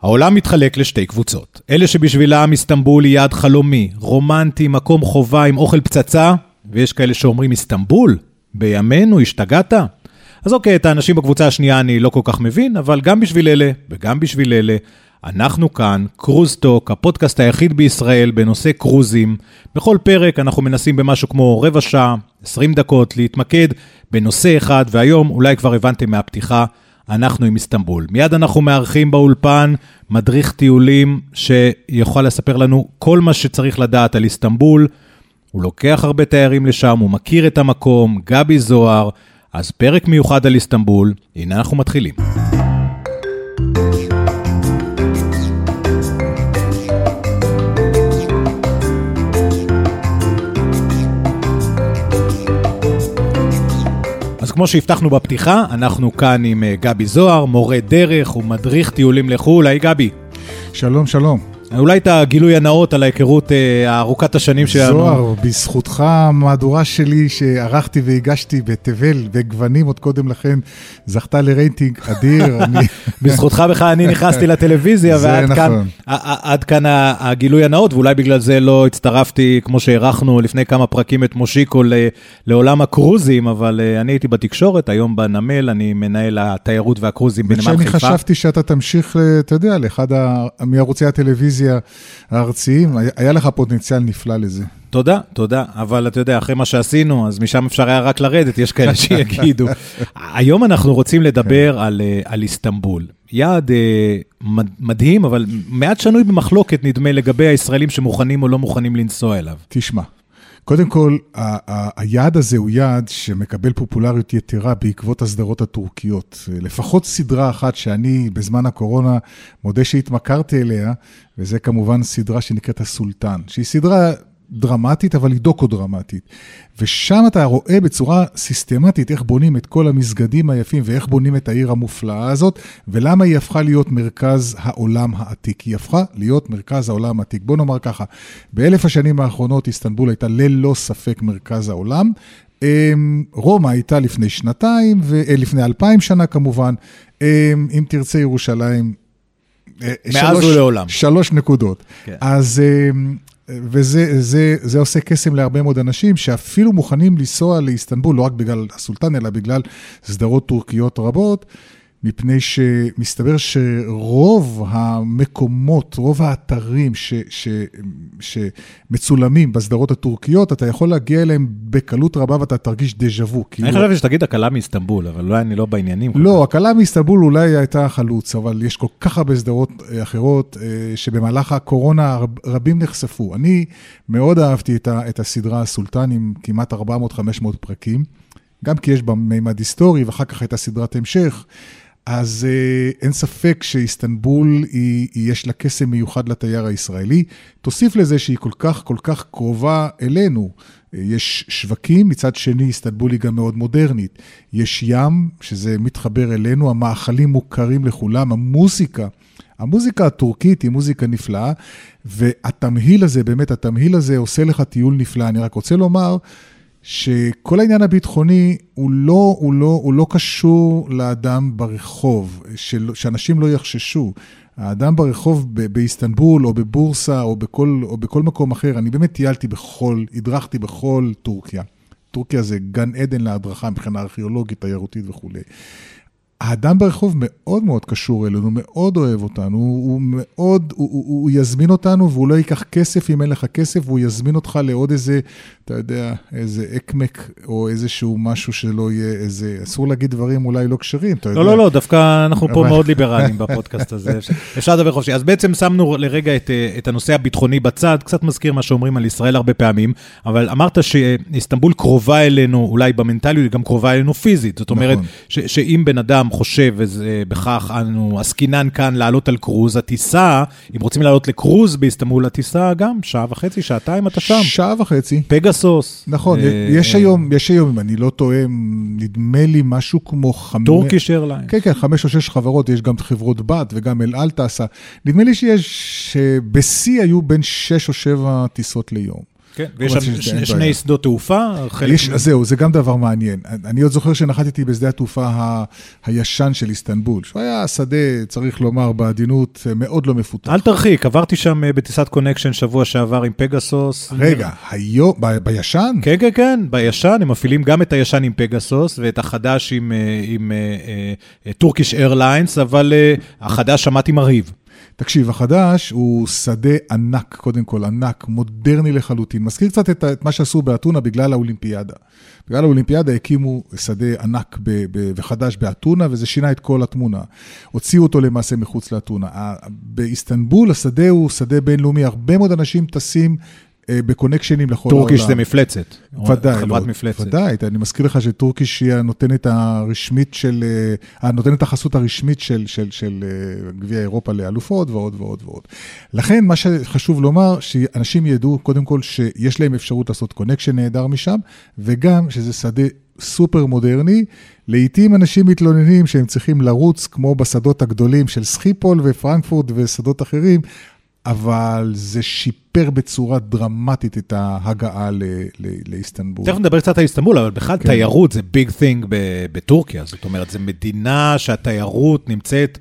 העולם מתחלק לשתי קבוצות. אלה שבשבילם איסטנבול היא יעד חלומי, רומנטי, מקום חובה עם אוכל פצצה, ויש כאלה שאומרים איסטנבול, בימינו השתגעת? אז אוקיי, את האנשים בקבוצה השנייה אני לא כל כך מבין, אבל גם בשביל אלה וגם בשביל אלה, אנחנו כאן, קרוזטוק, הפודקאסט היחיד בישראל בנושא קרוזים. בכל פרק אנחנו מנסים במשהו כמו רבע שעה, 20 דקות, להתמקד בנושא אחד, והיום אולי כבר הבנתם מהפתיחה, אנחנו עם איסטנבול. מיד אנחנו מארחים באולפן מדריך טיולים שיוכל לספר לנו כל מה שצריך לדעת על איסטנבול. הוא לוקח הרבה תיירים לשם, הוא מכיר את המקום, גבי זוהר. אז פרק מיוחד על איסטנבול, הנה אנחנו מתחילים. אז כמו שהבטחנו בפתיחה, אנחנו כאן עם גבי זוהר, מורה דרך ומדריך טיולים לחו"ל. היי גבי. שלום, שלום. אולי את הגילוי הנאות על ההיכרות הארוכת השנים שלנו. זוהר, בזכותך המהדורה שלי שערכתי והגשתי בתבל וגוונים עוד קודם לכן, זכתה לרייטינג אדיר. בזכותך בכלל אני נכנסתי לטלוויזיה, ועד כאן הגילוי הנאות, ואולי בגלל זה לא הצטרפתי, כמו שהערכנו לפני כמה פרקים את מושיקו לעולם הקרוזים, אבל אני הייתי בתקשורת, היום בנמל, אני מנהל התיירות והקרוזים בנמל חיפה. ושאני חשבתי שאתה תמשיך, אתה יודע, לאחד מערוצי הטלוויזיה הארציים, היה לך פוטנציאל נפלא לזה. תודה, תודה, אבל אתה יודע, אחרי מה שעשינו, אז משם אפשר היה רק לרדת, יש כאלה שיגידו. היום אנחנו רוצים לדבר על איסטנבול. יעד מדהים, אבל מעט שנוי במחלוקת נדמה לגבי הישראלים שמוכנים או לא מוכנים לנסוע אליו. תשמע, קודם כל, היעד הזה הוא יעד שמקבל פופולריות יתרה בעקבות הסדרות הטורקיות. לפחות סדרה אחת שאני בזמן הקורונה מודה שהתמכרתי אליה, וזה כמובן סדרה שנקראת הסולטן, שהיא סדרה דרמטית, אבל היא דוקו-דרמטית. ושם אתה רואה בצורה סיסטמטית איך בונים את כל המסגדים היפים, ואיך בונים את העיר המופלאה הזאת, ולמה היא הפכה להיות מרכז העולם העתיק. היא הפכה להיות מרכז העולם העתיק. בוא נאמר ככה, באלף השנים האחרונות איסטנבול הייתה ללא ספק מרכז העולם. רומא הייתה לפני שנתיים, ולפני 2000 שנה כמובן. אם תרצה ירושלים, מאז ולעולם. 3 נקודות. כן. אז וזה עושה קסם להרבה מאוד אנשים שאפילו מוכנים לנסוע לאיסטנבול, לא רק בגלל הסולטן, אלא בגלל סדרות טורקיות רבות, מפני שמסתבר שרוב המקומות, רוב האתרים שמצולמים בסדרות הטורקיות, אתה יכול להגיע אליהם בקלות רבה ואתה תרגיש דז'וו. אני חושב שתגיד הקלה מאיסטנבול, אבל אולי אני לא בעניינים. לא, הקלה מאיסטנבול אולי הייתה חלוץ, אבל יש כל כך הרבה סדרות אחרות שבמהלך הקורונה רבים נחשפו. אני מאוד אהבתי את הסדרה הסולטן עם כמעט 400-500 פרקים, גם כי יש בה מימד היסטורי ואחר כך הייתה סדרת המשך. אז אין ספק שאיסטנבול יש לה קסם מיוחד לתייר הישראלי. תוסיף לזה שהיא כל כך קרובה אלינו. יש שווקים, מצד שני איסטנבול היא גם מאוד מודרנית. יש ים, שזה מתחבר אלינו, המאכלים מוכרים לכולם, המוזיקה הטורקית היא מוזיקה נפלאה, והתמהיל הזה, באמת התמהיל הזה עושה לך טיול נפלא. אני רק רוצה לומר שכל העניין הביטחוני הוא לא קשור לאדם ברחוב, שאנשים לא יחששו. האדם ברחוב באיסטנבול או בבורסה או בכל מקום אחר, אני באמת הדרכתי בכל טורקיה. טורקיה זה גן עדן להדרכה מבחינה ארכיאולוגית, תיירותית וכו'. האדם ברחוב מאוד מאוד קשור אלינו, מאוד אוהב אותנו, הוא יזמין אותנו, והוא לא ייקח כסף אם אין לך כסף, והוא יזמין אותך לעוד איזה, אתה יודע, איזה אקמק, או איזשהו משהו שלא יהיה איזה, אסור להגיד דברים אולי לא קשרים, אתה יודע. לא, דווקא אנחנו פה מאוד ליברליים בפודקאסט הזה, אפשר לדבר חופשי. אז בעצם שמנו לרגע את הנושא הביטחוני בצד, קצת מזכיר מה שאומרים על ישראל הרבה פעמים, אבל אמרת שאיסטנבול קרובה אלינו, אולי במנטליות היא גם קרובה אלינו פיזית, זאת אומרת, שאם בן אדם חושב, ובכך אנו עסקינן כאן לעלות על קרוז, הטיסה, אם רוצים לעלות לקרוז באיסטנבול, הטיסה גם 1.5 שעתיים אתה שם. 1.5 פגסוס. נכון, יש היום, אם אני לא טועה, נדמה לי משהו כמו 5... טורקיש איירליין. כן, 5 או 6 חברות, יש גם חברות בת וגם אל על טסה. נדמה לי שבשיא היו בין 6 או 7 טיסות ליום. כן, ויש שם שני שדות תעופה. זהו, זה גם דבר מעניין. אני עוד זוכר שנחתתי בשדה התעופה הישן של איסטנבול, שהוא היה שדה, צריך לומר, בעדינות מאוד לא מפותח. אל תרחיק, עברתי שם בטיסת קונקשן שבוע שעבר עם פגסוס. רגע, בישן? כן, כן, כן, בישן, הם מפעילים גם את הישן עם פגסוס, ואת החדש עם טורקיש איירליינס, אבל החדש שמעתי מרהיב. תקשיב, החדש הוא שדה ענק, קודם כל ענק, מודרני לחלוטין. מזכיר קצת את מה שעשו באתונה בגלל האולימפיאדה. בגלל האולימפיאדה הקימו שדה ענק וחדש באתונה, וזה שינה את כל התמונה. הוציאו אותו למעשה מחוץ לאתונה. באיסטנבול השדה הוא שדה בינלאומי, הרבה מאוד אנשים טסים בקונקשנים לכל העולם. טורקיש זה מפלצת. ודאי, חברת מפלצת. ודאי, אני מזכיר לך שטורקיש היא הנותנת הנותנת החסות הרשמית של גביע אירופה לאלופות ועוד ועוד ועוד. לכן מה שחשוב לומר, שאנשים ידעו קודם כל שיש להם אפשרות לעשות קונקשן נהדר משם, וגם שזה שדה סופר מודרני. לעתים אנשים מתלוננים שהם צריכים לרוץ כמו בשדות הגדולים של סחיפול ופרנקפורט ושדות אחרים, אבל זה שיפר בצורה דרמטית את ההגעה לאיסטנבול. תכף נדבר קצת על איסטנבול, אבל בכלל תיירות זה ביג תינג בטורקיה. זאת אומרת, זו מדינה שהתיירות נמצאת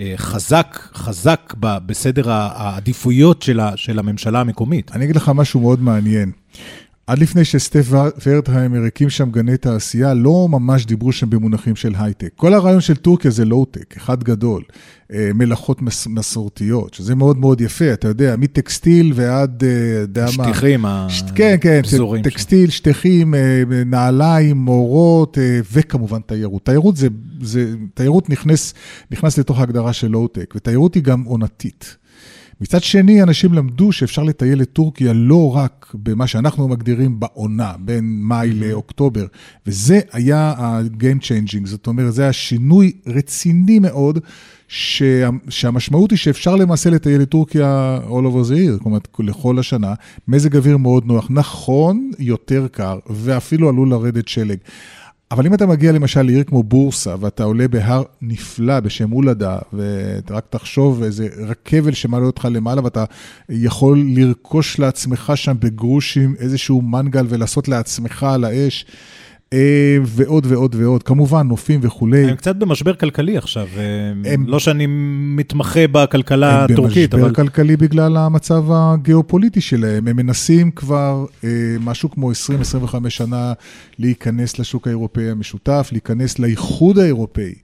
חזק בסדר העדיפויות של הממשלה המקומית. אני אגיד לך משהו מאוד מעניין. עד לפני שסטף ורטהיימר הקים שם גני תעשייה, לא ממש דיברו שם במונחים של הייטק. כל הרעיון של טורקיה זה לואו-טק, אחד גדול, מלאכות מסורתיות, שזה מאוד מאוד יפה, אתה יודע, מטקסטיל ועד... שטיחים הפזורים. כן, טקסטיל, שטיחים, נעליים, מורות, וכמובן תיירות. תיירות נכנס לתוך ההגדרה של לואו-טק, ותיירות היא גם עונתית. מצד שני, אנשים למדו שאפשר לטייל לטורקיה לא רק במה שאנחנו מגדירים בעונה, בין מאי לאוקטובר, וזה היה ה-game changing, זאת אומרת, זה היה שינוי רציני מאוד, שהמשמעות היא שאפשר למעשה לטייל לטורקיה all over the year, זאת אומרת, לכל השנה, מזג אוויר מאוד נוח, נכון, יותר קר, ואפילו עלול לרדת שלג. אבל אם אתה מגיע למשל לעיר כמו בורסה, ואתה עולה בהר נפלא בשם אולדה, ורק תחשוב איזה רכבל שמעלה אותך למעלה, ואתה יכול לרכוש לעצמך שם בגרושים איזשהו מנגל, ולעשות לעצמך על האש, ועוד ועוד ועוד, כמובן נופים וכולי. הם קצת במשבר כלכלי עכשיו, לא שאני מתמחה בכלכלה הטורקית, אבל... הם במשבר כלכלי בגלל המצב הגיאופוליטי שלהם, הם מנסים כבר משהו כמו 20-25 שנה להיכנס לשוק האירופאי המשותף, להיכנס לאיחוד האירופאי.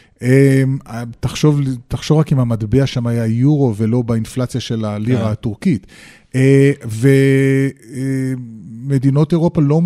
תחשוב רק אם המטבע שם היה יורו ולא באינפלציה של הלירה הטורקית. ומדינות אירופה לא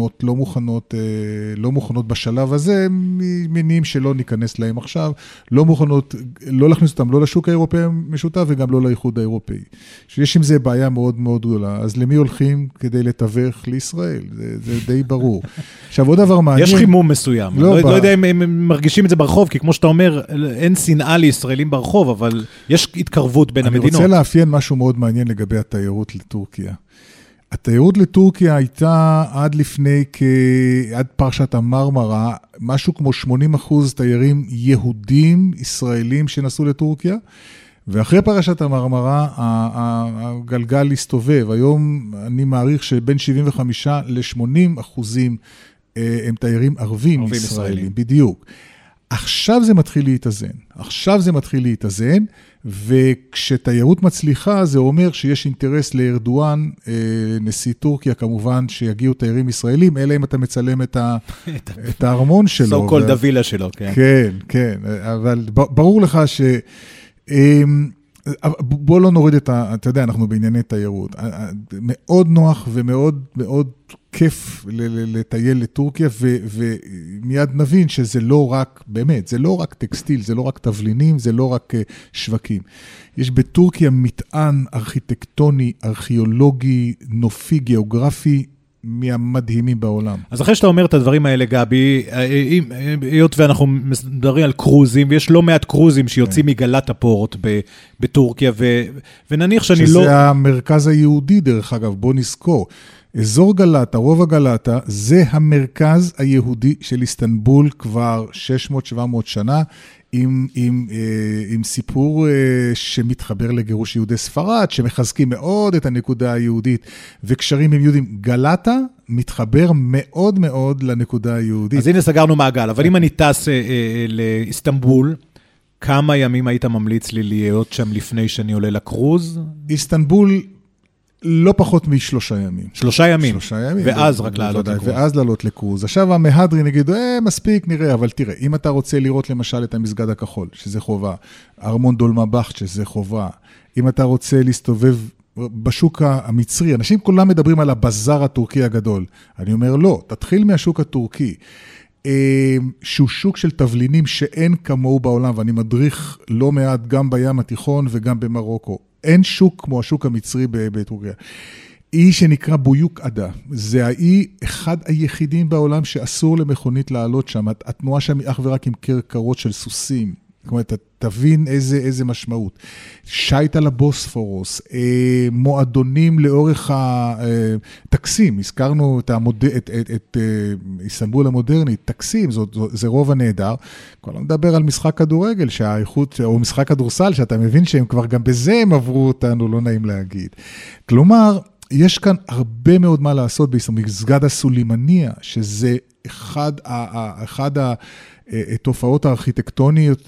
מוכנות בשלב הזה, מניעים שלא ניכנס להם עכשיו, לא מוכנות, לא להכניס אותם לא לשוק האירופאי המשותף וגם לא לאיחוד האירופאי. שיש עם זה בעיה מאוד מאוד גדולה. אז למי הולכים כדי לתווך לישראל? זה די ברור. עכשיו עוד דבר מעניין. יש חימום מסוים. לא יודע אם הם מרגישים את זה ברחוב, כי כמו שאתה אומר, אין שנאה לישראלים ברחוב, אבל יש התקרבות בין המדינות. אני רוצה לאפיין משהו מאוד מעניין לגבי התיירות לטורקיה. התיירות לטורקיה הייתה עד פרשת המרמרה, משהו כמו 80% תיירים יהודים, ישראלים שנסעו לטורקיה, ואחרי פרשת המרמרה, הגלגל הסתובב. היום אני מעריך שבין 75 ל-80% הם תיירים ערבים ישראלים, בדיוק. עכשיו זה מתחיל להתאזן, וכשתיירות מצליחה, זה אומר שיש אינטרס לארדואן, נשיא טורקיה, כמובן שיגיעו תיירים ישראלים, אלא אם אתה מצלם את הארמון שלו. So called הווילה שלו, כן. כן, כן, אבל ברור לך ש... בוא לא נוריד אתה יודע, אנחנו בענייני תיירות. מאוד נוח ומאוד מאוד כיף לטייל לטורקיה, ומיד נבין שזה לא רק, באמת, זה לא רק טקסטיל, זה לא רק תבלינים, זה לא רק שווקים. יש בטורקיה מטען ארכיטקטוני, ארכיאולוגי, נופי, גיאוגרפי, מהמדהימים בעולם. אז אחרי שאתה אומר את הדברים האלה, גבי, היות ואנחנו מדברים על קרוזים, ויש לא מעט קרוזים שיוצאים מגלת הפורט בטורקיה, ונניח שאני לא... שזה המרכז היהודי, דרך אגב, בוא נזכור. אזור גלטה, רובע גלטה, זה המרכז היהודי של איסטנבול כבר 600-700 שנה, עם סיפור שמתחבר לגירוש יהודי ספרד, שמחזקים מאוד את הנקודה היהודית, וקשרים עם יהודים. גלטה מתחבר מאוד מאוד לנקודה היהודית. אז הנה סגרנו מעגל, אבל אם אני טס לאיסטנבול, כמה ימים היית ממליץ לי להיות שם לפני שאני עולה לקרוז? איסטנבול לא פחות מ3 ימים. 3 ימים? 3 ימים. ואז רק לעלות לקרוז. ואז לעלות לקרוז. עכשיו המהדרי נגיד, מספיק, נראה, אבל תראה, אם אתה רוצה לראות למשל את המסגד הכחול, שזה חובה, ארמון דולמבכט, שזה חובה, אם אתה רוצה להסתובב בשוק המצרי, אנשים כולם מדברים על הבזאר הטורקי הגדול. אני אומר, לא, תתחיל מהשוק הטורקי. שהוא שוק של תבלינים שאין כמוהו בעולם, ואני מדריך לא מעט גם בים התיכון וגם במרוקו. אין שוק כמו השוק המצרי בטורקיה. אי שנקרא בויוק עדה. זה האי אחד היחידים בעולם שאסור למכונית לעלות שם. התנועה שם היא אך ורק עם קרקרות של סוסים. זאת אומרת, תבין איזה משמעות. שייט על הבוספורוס, מועדונים לאורך הטקסים, הזכרנו את איסטנבול המודרנית, טקסים, זה רוב הנהדר. כל מדבר על משחק כדורגל, שהאיכות, או משחק כדורסל, שאתה מבין שהם כבר גם בזה הם עברו אותנו, לא נעים להגיד. כלומר, יש כאן הרבה מאוד מה לעשות במסגד הסולימניה, שזה אחד התופעות הארכיטקטוניות,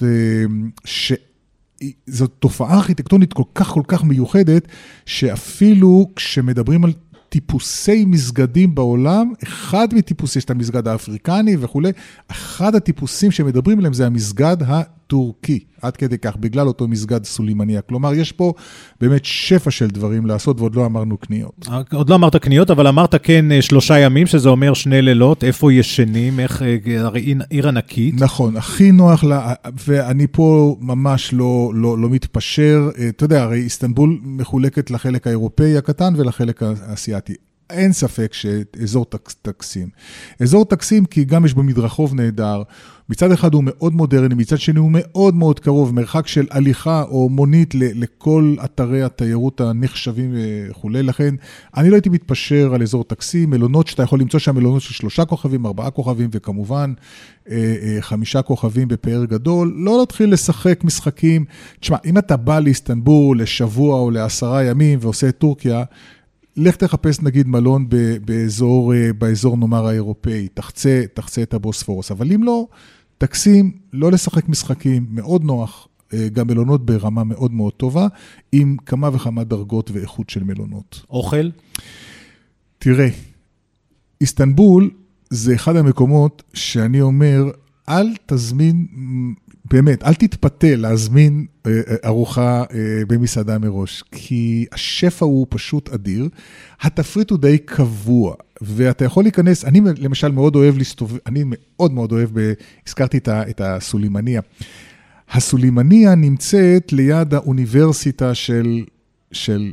שזו תופעה ארכיטקטונית כל כך מיוחדת, שאפילו כשמדברים על טיפוסי מסגדים בעולם, אחד מטיפוסי, יש את המסגד האפריקני וכו', אחד הטיפוסים שמדברים עליהם זה המסגד הטורקי, עד כדי כך, בגלל אותו מסגד סולימניה. כלומר, יש פה באמת שפע של דברים לעשות, ועוד לא אמרנו קניות. עוד לא אמרת קניות, אבל אמרת כן 3 ימים, שזה אומר 2 לילות, איפה ישנים, איך, הרי עיר ענקית. נכון, הכי נוח לה, ואני פה ממש לא מתפשר, אתה יודע, הרי איסטנבול מחולקת לחלק האירופאי הקטן ולחלק האסייתי. אין ספק שאזור טקסים. אזור טקסים כי גם יש בו מדרחוב נהדר, מצד אחד הוא מאוד מודרני, מצד שני הוא מאוד מאוד קרוב, מרחק של הליכה או מונית לכל אתרי התיירות הנחשבים וכו'. לכן אני לא הייתי מתפשר על אזור טקסים, מלונות שאתה יכול למצוא שם מלונות של 3 כוכבים, 4 כוכבים וכמובן 5 כוכבים בפאר גדול. לא להתחיל לשחק משחקים. תשמע, אם אתה בא לאיסטנבול לשבוע או ל10 ימים ועושה את טורקיה, לך תחפש נגיד מלון באזור נאמר האירופאי, תחצה את הבוספורוס, אבל אם לא, טקסים, לא לשחק משחקים, מאוד נוח, גם מלונות ברמה מאוד מאוד טובה, עם כמה וכמה דרגות ואיכות של מלונות. אוכל? תראה, איסטנבול זה אחד המקומות שאני אומר, אל תזמין, באמת, אל תתפתה להזמין ארוחה במסעדה מראש, כי השפע הוא פשוט אדיר, התפריט הוא די קבוע, ואתה יכול להיכנס, אני למשל מאוד אוהב להסתובב, אני מאוד מאוד אוהב, הזכרתי את הסולימניה. הסולימניה נמצאת ליד האוניברסיטה של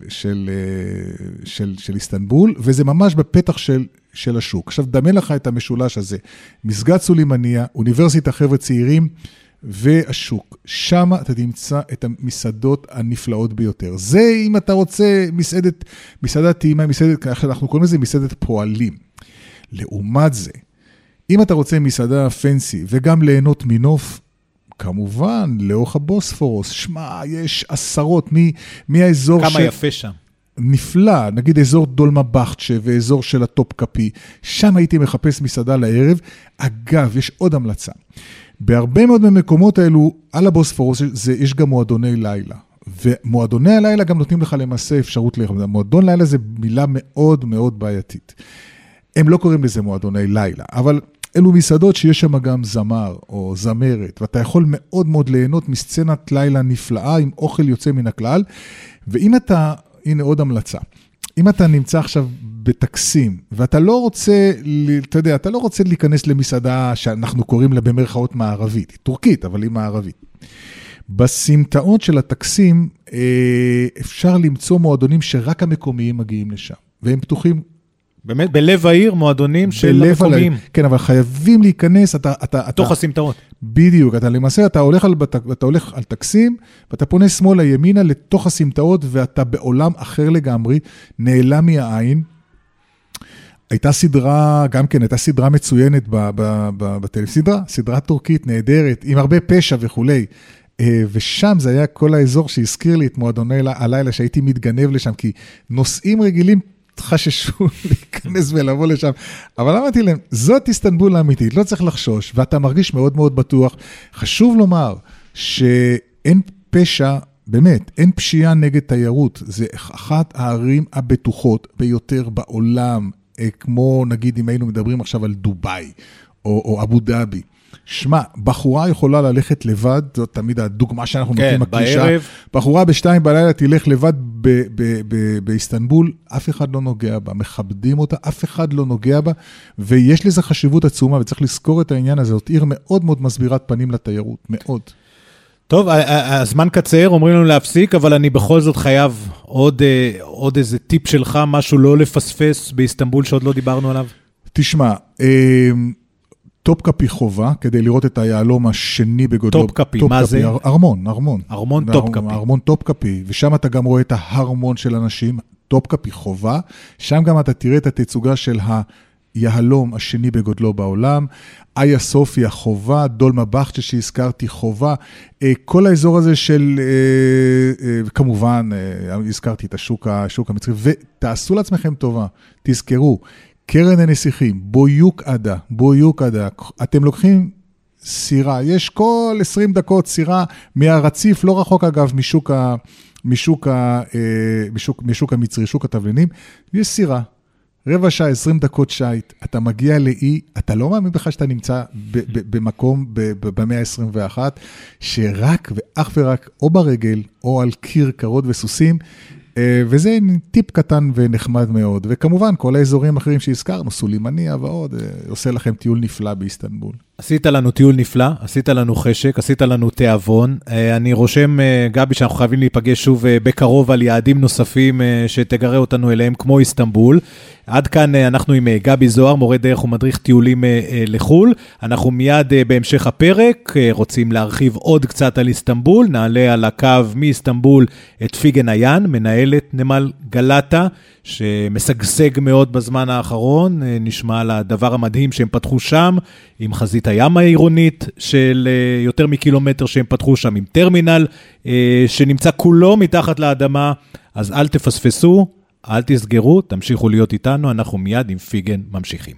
איסטנבול, וזה ממש בפתח של השוק. עכשיו, דמה לך את המשולש הזה, מסגד סולימניה, אוניברסיטה חבר'ה צעירים, והשוק. שם אתה תמצא את המסעדות הנפלאות ביותר. זה אם אתה רוצה מסעדת טעימה, אנחנו קוראים לזה מסעדת פועלים. לעומת זה, אם אתה רוצה מסעדה פנסי וגם ליהנות מנוף, כמובן, לאורך הבוספורוס, שמע, יש עשרות מהאזור כמה יפה שם. נפלא, נגיד אזור דולמבכט ואזור של הטופקאפי, שם הייתי מחפש מסעדה לערב. אגב, יש עוד המלצה. בהרבה מאוד מהמקומות האלו, על הבוספורוס, יש גם מועדוני לילה. ומועדוני הלילה גם נותנים לך למעשה אפשרות לאכול. מועדון לילה זה מילה מאוד מאוד בעייתית. הם לא קוראים לזה מועדוני לילה, אבל אלו מסעדות שיש שם גם זמר או זמרת, ואתה יכול מאוד מאוד ליהנות מסצנת לילה נפלאה עם אוכל יוצא מן הכלל. ואם אתה, הנה עוד המלצה, אם אתה נמצא עכשיו בטקסים, ואתה לא רוצה, אתה יודע, אתה לא רוצה להיכנס למסעדה שאנחנו קוראים לה במרכאות מערבית, טורקית, אבל היא מערבית. בסמטאות של הטקסים אפשר למצוא מועדונים שרק המקומיים מגיעים לשם, והם פתוחים. באמת, בלב העיר, מועדונים של המקומיים. כן, אבל חייבים להיכנס, תוך הסמטאות. בדיוק, למעשה אתה הולך על טקסים, ואתה פונה שמאלה ימינה לתוך הסמטאות, ואתה בעולם אחר לגמרי, נעלם מהעין. הייתה סדרה, גם כן, הייתה סדרה מצוינת בטלוויזיה, סדרה טורקית נהדרת, עם הרבה פשע וכולי. ושם זה היה כל האזור שהזכיר לי את מועדוני הלילה, שהייתי מתגנב לשם, כי נוסעים רגילים חששו להיכנס ולבוא לשם. אבל אמרתי להם, זאת איסטנבול האמיתית, לא צריך לחשוש, ואתה מרגיש מאוד מאוד בטוח. חשוב לומר שאין פשע, באמת, אין פשיעה נגד תיירות. זה אחת הערים הבטוחות ביותר בעולם, כמו נגיד אם היינו מדברים עכשיו על דוביי או אבו דאבי. שמע, בחורה יכולה ללכת לבד, זאת תמיד הדוגמה שאנחנו נותנים הקלישה. בחורה ב-2 בלילה תלך לבד באיסטנבול, אף אחד לא נוגע בה, מכבדים אותה, אף אחד לא נוגע בה, ויש לזה חשיבות עצומה, וצריך לזכור את העניין הזה, זאת עיר מאוד מאוד מסבירת פנים לתיירות, מאוד. טוב, הזמן קצר, אומרים לנו להפסיק, אבל אני בכל זאת חייב עוד איזה טיפ שלך, משהו לא לפספס באיסטנבול שעוד לא דיברנו עליו. תשמע, טופקאפי חובה, כדי לראות את היעלום השני בגודלו. טופקאפי, מה זה? ארמון. ארמון טופקאפי. ארמון טופקאפי, ושם אתה גם רואה את ההרמון של אנשים, טופקאפי חובה, שם גם אתה תראה את התצוגה של היהלום השני בגודלו בעולם, איה סופיה חובה, דולמה בכצ'ה שהזכרתי חובה, כל האזור הזה של, כמובן, הזכרתי את השוק המצרי, ותעשו לעצמכם טובה, תזכרו, קרן הנסיכים, בויוק עדה, אתם לוקחים סירה, יש כל 20 דקות סירה מהרציף, לא רחוק אגב משוק המצרי, שוק התבלינים, יש סירה, רבע שעה, 20 דקות שייט, אתה מגיע לאי, אתה לא מאמין בכלל שאתה נמצא במקום במאה ה-21, שרק ואך ורק או ברגל או על קיר קרות וסוסים, וזה טיפ קטן ונחמד מאוד, וכמובן כל האזורים האחרים שהזכרנו, סולימניה ועוד, עושה לכם טיול נפלא באיסטנבול. עשית לנו טיול נפלא, עשית לנו חשק, עשית לנו תיאבון, אני רושם גבי שאנחנו חייבים להיפגש שוב בקרוב על יעדים נוספים שתגרה אותנו אליהם כמו איסטנבול, עד כאן אנחנו עם גבי זוהר, מורה דרך ומדריך טיולים לחול, אנחנו מיד בהמשך הפרק רוצים להרחיב עוד קצת על איסטנבול, נעלה על הקו מאיסטנבול את פיגן איין, מנהלת נמל גלטה, שמשגשג מאוד בזמן האחרון, נשמע על הדבר המדהים שהם פתחו שם, עם חזית הים העירונית של יותר מקילומטר שהם פתחו שם, עם טרמינל שנמצא כולו מתחת לאדמה, אז אל תפספסו, אל תסגרו, תמשיכו להיות איתנו, אנחנו מיד עם פיגן ממשיכים.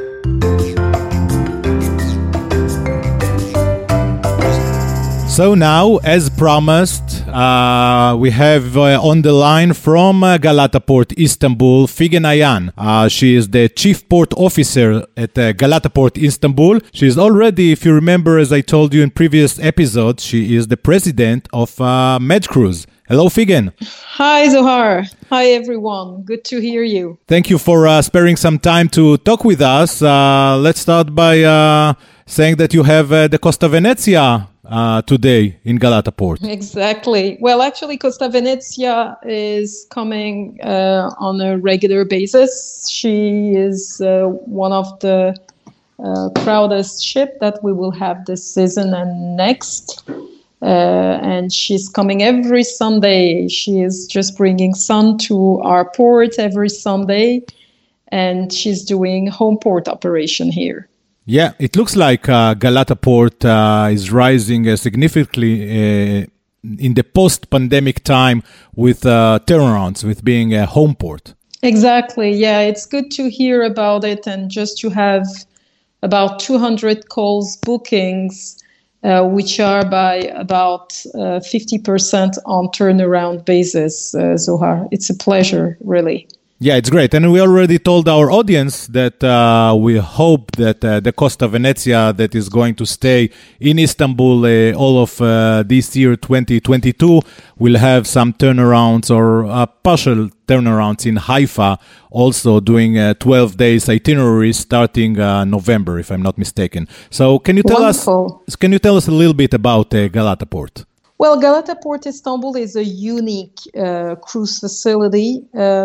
So now, as promised, we have on the line from Galata Port, Istanbul, Figen Ayan. She is the Chief Port Officer at Galata Port, Istanbul. She is already, if you remember, as I told you in previous episodes, she is the president of MedCruise. Hello, Figen. Hi, Zohar. Hi, everyone. Good to hear you. Thank you for sparing some time to talk with us. Let's start by saying that you have the Costa Venezia today in Galata Port. Exactly. Well, actually, Costa Venezia is coming on a regular basis. She is one of the proudest ship that we will have this season and next. And she's coming every Sunday. She is just bringing sun to our port every Sunday. And she's doing home port operation here. Yeah, it looks like Galata Port is rising significantly in the post-pandemic time with turnarounds, with being a home port. Exactly, yeah, it's good to hear about it and just to have about 200 calls bookings, which are by about 50% on turnaround basis, Zohar. It's a pleasure, really. Yeah, it's great. And we already told our audience that we hope that the Costa Venezia that is going to stay in Istanbul all of this year, 2022, will have some turnarounds or partial turnarounds in Haifa, also doing 12 days itinerary starting November, if I'm not mistaken. So can you tell us a little bit about Galata Port? Well, Galata Port Istanbul is a unique cruise facility.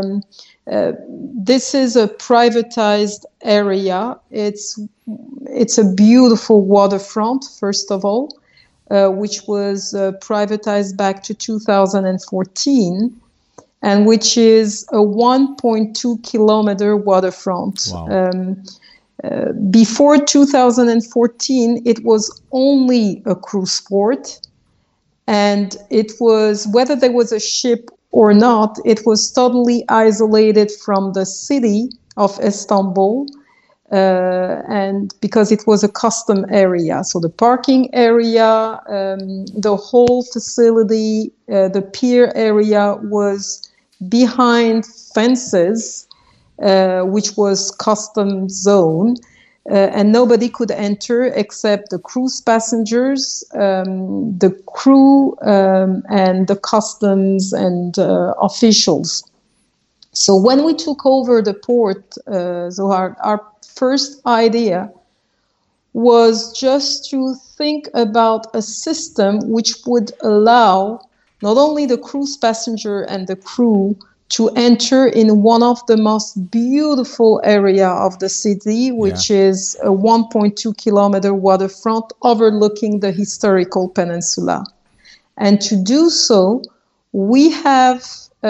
This is a privatized area. It's a beautiful waterfront, first of all, which was privatized back to 2014. and which is a 1.2 kilometer waterfront. Wow. Before 2014, it was only a cruise port, and it was, whether there was a ship or not, it was totally isolated from the city of Istanbul, and because it was a custom area. So the parking area, the whole facility, the pier area was behind fences, which was custom zone, and nobody could enter except the cruise passengers, the crew, and the customs and officials. So when we took over the port, Zohar, our first idea was just to think about a system which would allow not only the cruise passenger and the crew to enter in one of the most beautiful area of the city, which is a 1.2 kilometer waterfront overlooking the historical peninsula. And to do so, we have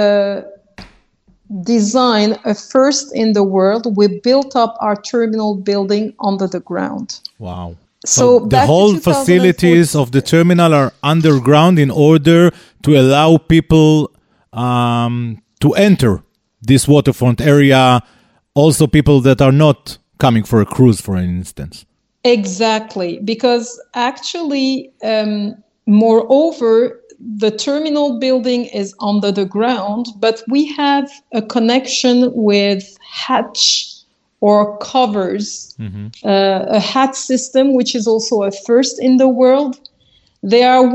designed a first in the world. We built up our terminal building under the ground. Wow. So the whole facilities of the terminal are underground in order to allow people to enter this waterfront area, also people that are not coming for a cruise, for instance. Exactly, because actually, moreover, the terminal building is under the ground, but we have a connection with hatch or covers, a hatch system, which is also a first in the world. There are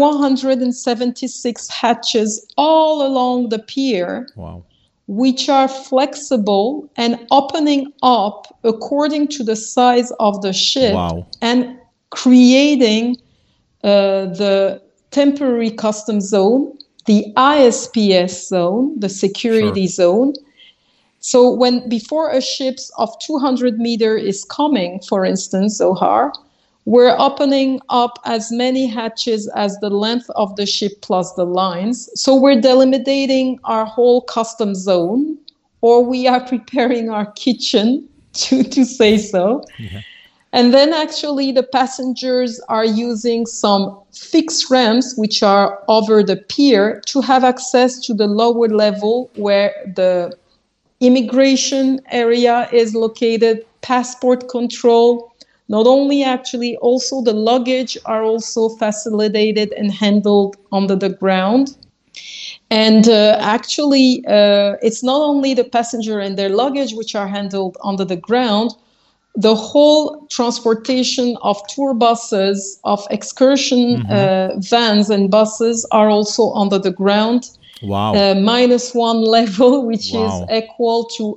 176 hatches all along the pier, wow, which are flexible and opening up according to the size of the ship, wow, and creating the temporary customs zone, the ISPS zone, the security zone. So when before a ship of 200 meter is coming, for instance, Zohar, we're opening up as many hatches as the length of the ship plus the lines. So we're delimiting our whole custom zone, or we are preparing our kitchen, to say so. Yeah. And then actually the passengers are using some fixed ramps, which are over the pier, to have access to the lower level where the immigration area is located, passport control. Not only actually, also the luggage are also facilitated and handled under the ground. And actually, it's not only the passenger and their luggage which are handled under the ground. The whole transportation of tour buses, of excursion vans and buses are also under the ground. Wow. -1 level, which is equal to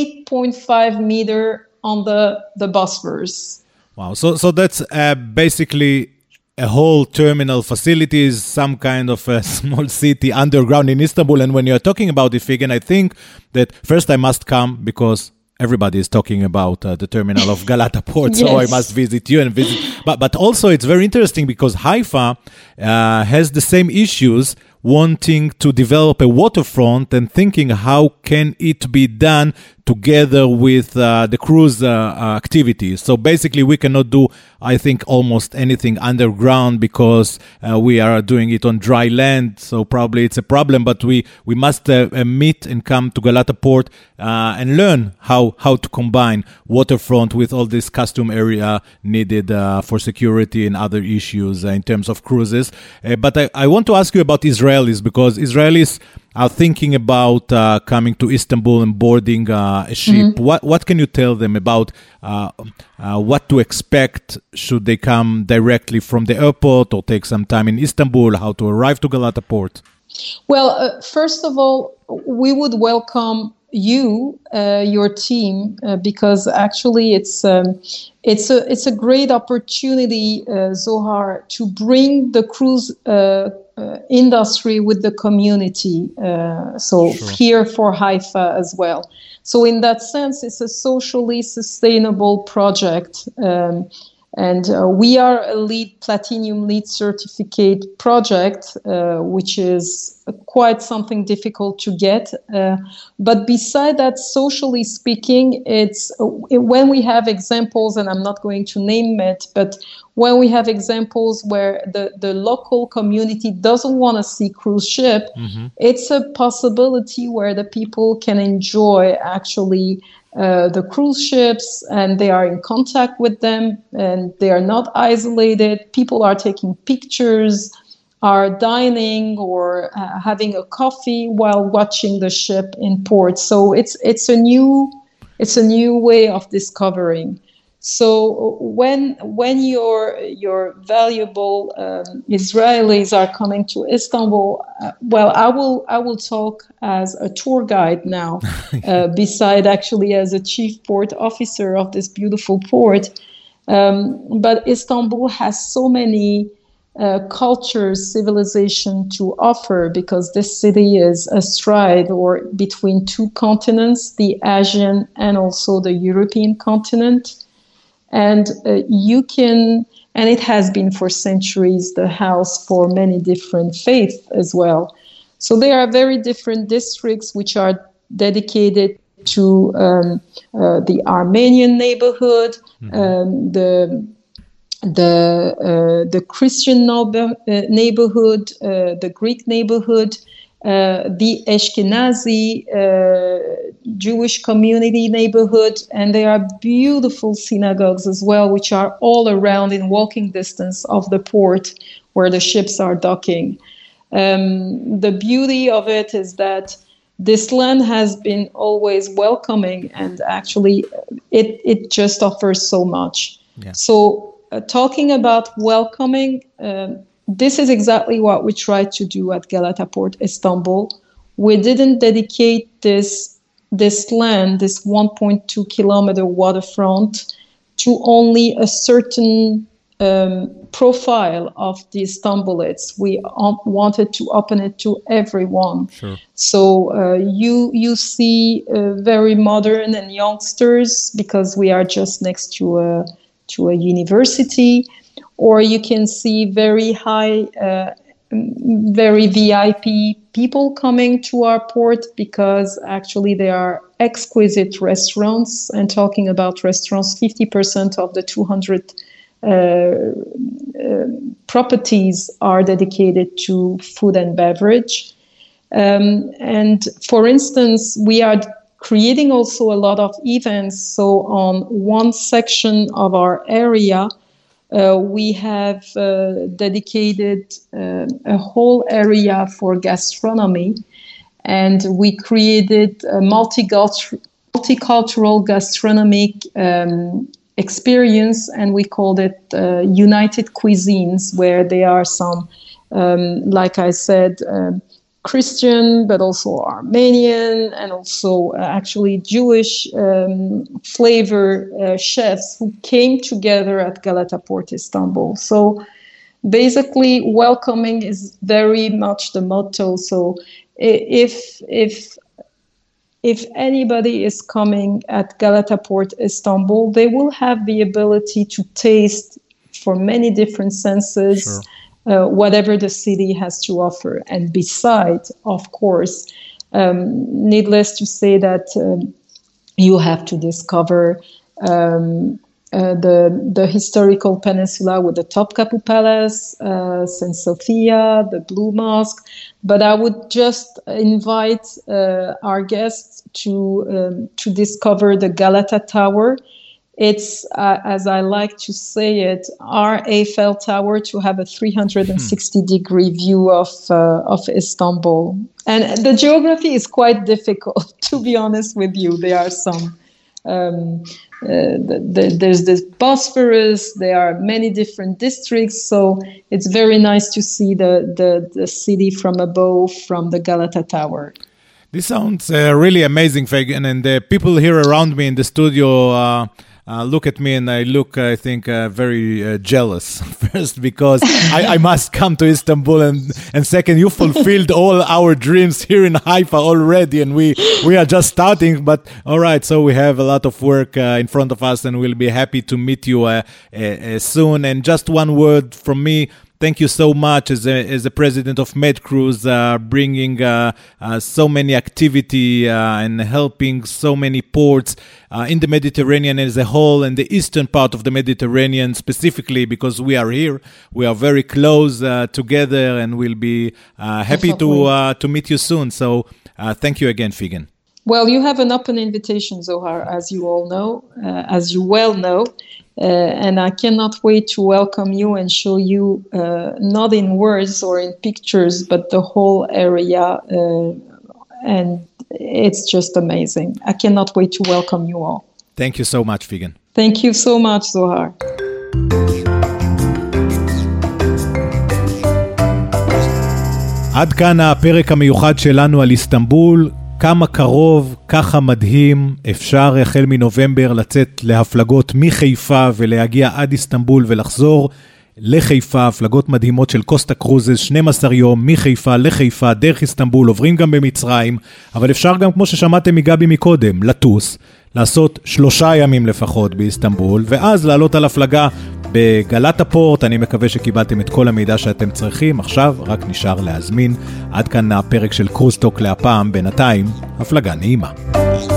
8.5 meter on the Bosphorus. Wow. So that's basically a whole terminal facilities, some kind of a small city underground in Istanbul. And when you're talking about Ifigen, I think that first I must come because everybody is talking about the terminal of Galata Port, so I must visit you and visit. But also it's very interesting because Haifa has the same issues, wanting to develop a waterfront and thinking how can it be done together with the cruise activities. So basically we cannot do, I think, almost anything underground because we are doing it on dry land. So probably it's a problem, but we must meet and come to Galata Port and learn how to combine waterfront with all this custom area needed for security and other issues in terms of cruises. But I want to ask you about Israelis, because Israelis are thinking about coming to Istanbul and boarding a ship. What can you tell them about what to expect? Should they come directly from the airport or take some time in Istanbul? How to arrive to Galata Port? Well, first of all, we would welcome you, your team, because actually it's a great opportunity, Zohar, to bring the cruise industry with the community. Here for Haifa as well. So in that sense, it's a socially sustainable project. And we are a platinum LEED certificate project, which is quite something difficult to get. But beside that, socially speaking, it's when we have examples, and I'm not going to name it, but when we have examples where the local community doesn't want to see cruise ship, it's a possibility where the people can enjoy actually the cruise ships, and they are in contact with them, and they are not isolated. People are taking pictures, are dining or having a coffee while watching the ship in port. So it's a new way of discovering. So when your valuable Israelis are coming to Istanbul, well, I will talk as a tour guide now, beside actually as a chief port officer of this beautiful port. But Istanbul has so many cultures, civilization to offer, because this city is astride or between two continents, the Asian and also the European continent. And and it has been for centuries, the house for many different faiths as well. So there are very different districts which are dedicated to the Armenian neighborhood, the Christian neighborhood, the Greek neighborhood, the Ashkenazi Jewish community neighborhood, and there are beautiful synagogues as well, which are all around in walking distance of the port where the ships are docking. The beauty of it is that this land has been always welcoming, and actually it just offers so much. Yeah. So talking about welcoming, this is exactly what we tried to do at Galata Port Istanbul. We didn't dedicate this land, this 1.2 kilometer waterfront, to only a certain profile of the Istanbulites. We wanted to open it to everyone. Sure. So you see very modern and youngsters, because we are just next to a university. Or you can see very high, very VIP people coming to our port, because actually they are exquisite restaurants. And talking about restaurants, 50% of the 200 properties are dedicated to food and beverage. And for instance, we are creating also a lot of events. So on one section of our area, we have dedicated a whole area for gastronomy, and we created a multicultural gastronomic experience, and we called it United Cuisines, where there are some, like I said, Christian, but also Armenian, and also actually Jewish flavor chefs who came together at Galata Port Istanbul. So basically, welcoming is very much the motto. So if anybody is coming at Galata Port Istanbul, they will have the ability to taste for many different senses. Sure. Whatever the city has to offer. And besides, of course, needless to say that you have to discover the historical peninsula with the Topkapi Palace, St. Sophia, the Blue Mosque. But I would just invite our guests to discover the Galata Tower. It's, as I like to say it, our Eiffel Tower, to have a 360-degree view of Istanbul. And the geography is quite difficult, to be honest with you. There are some, there's this Bosphorus, there are many different districts, so it's very nice to see the city from above, from the Galata Tower. This sounds really amazing, Fagan, and the people here around me in the studio look at me and I look, I think, very jealous. First, because I must come to Istanbul, and second, you fulfilled all our dreams here in Haifa already, and we are just starting. But all right, so we have a lot of work in front of us, and we'll be happy to meet you soon. And just one word from me. Thank you so much as a president of MedCruise, bringing so many activity and helping so many ports in the Mediterranean as a whole, and the eastern part of the Mediterranean specifically, because we are here. We are very close together, and we'll be happy to meet you soon. So thank you again, Figen. Well, you have an open invitation, Zohar, as you all know, as you well know. And I cannot wait to welcome you and show you, not in words or in pictures, but the whole area. And it's just amazing. I cannot wait to welcome you all. Thank you so much, Figen. Thank you so much, Zohar. עד כאן הפרק המיוחד שלנו על איסטנבול. כמה קרוב, ככה מדהים, אפשר החל מנובמבר לצאת להפלגות מחיפה ולהגיע עד איסטנבול ולחזור לחיפה, הפלגות מדהימות של קוסטה קרוזס, 12 יום מחיפה לחיפה, דרך איסטנבול, עוברים גם במצרים, אבל אפשר גם, כמו ששמעתם מגבי מקודם, לטוס, לעשות 3 ימים לפחות באיסטנבול, ואז לעלות על הפלגה בגלת הפורט. אני מקווה שקיבלתם את כל המידע שאתם צריכים, עכשיו רק נשאר להזמין. עד כאן הפרק של קרוזטוק להפעם, בינתיים, הפלגה נעימה.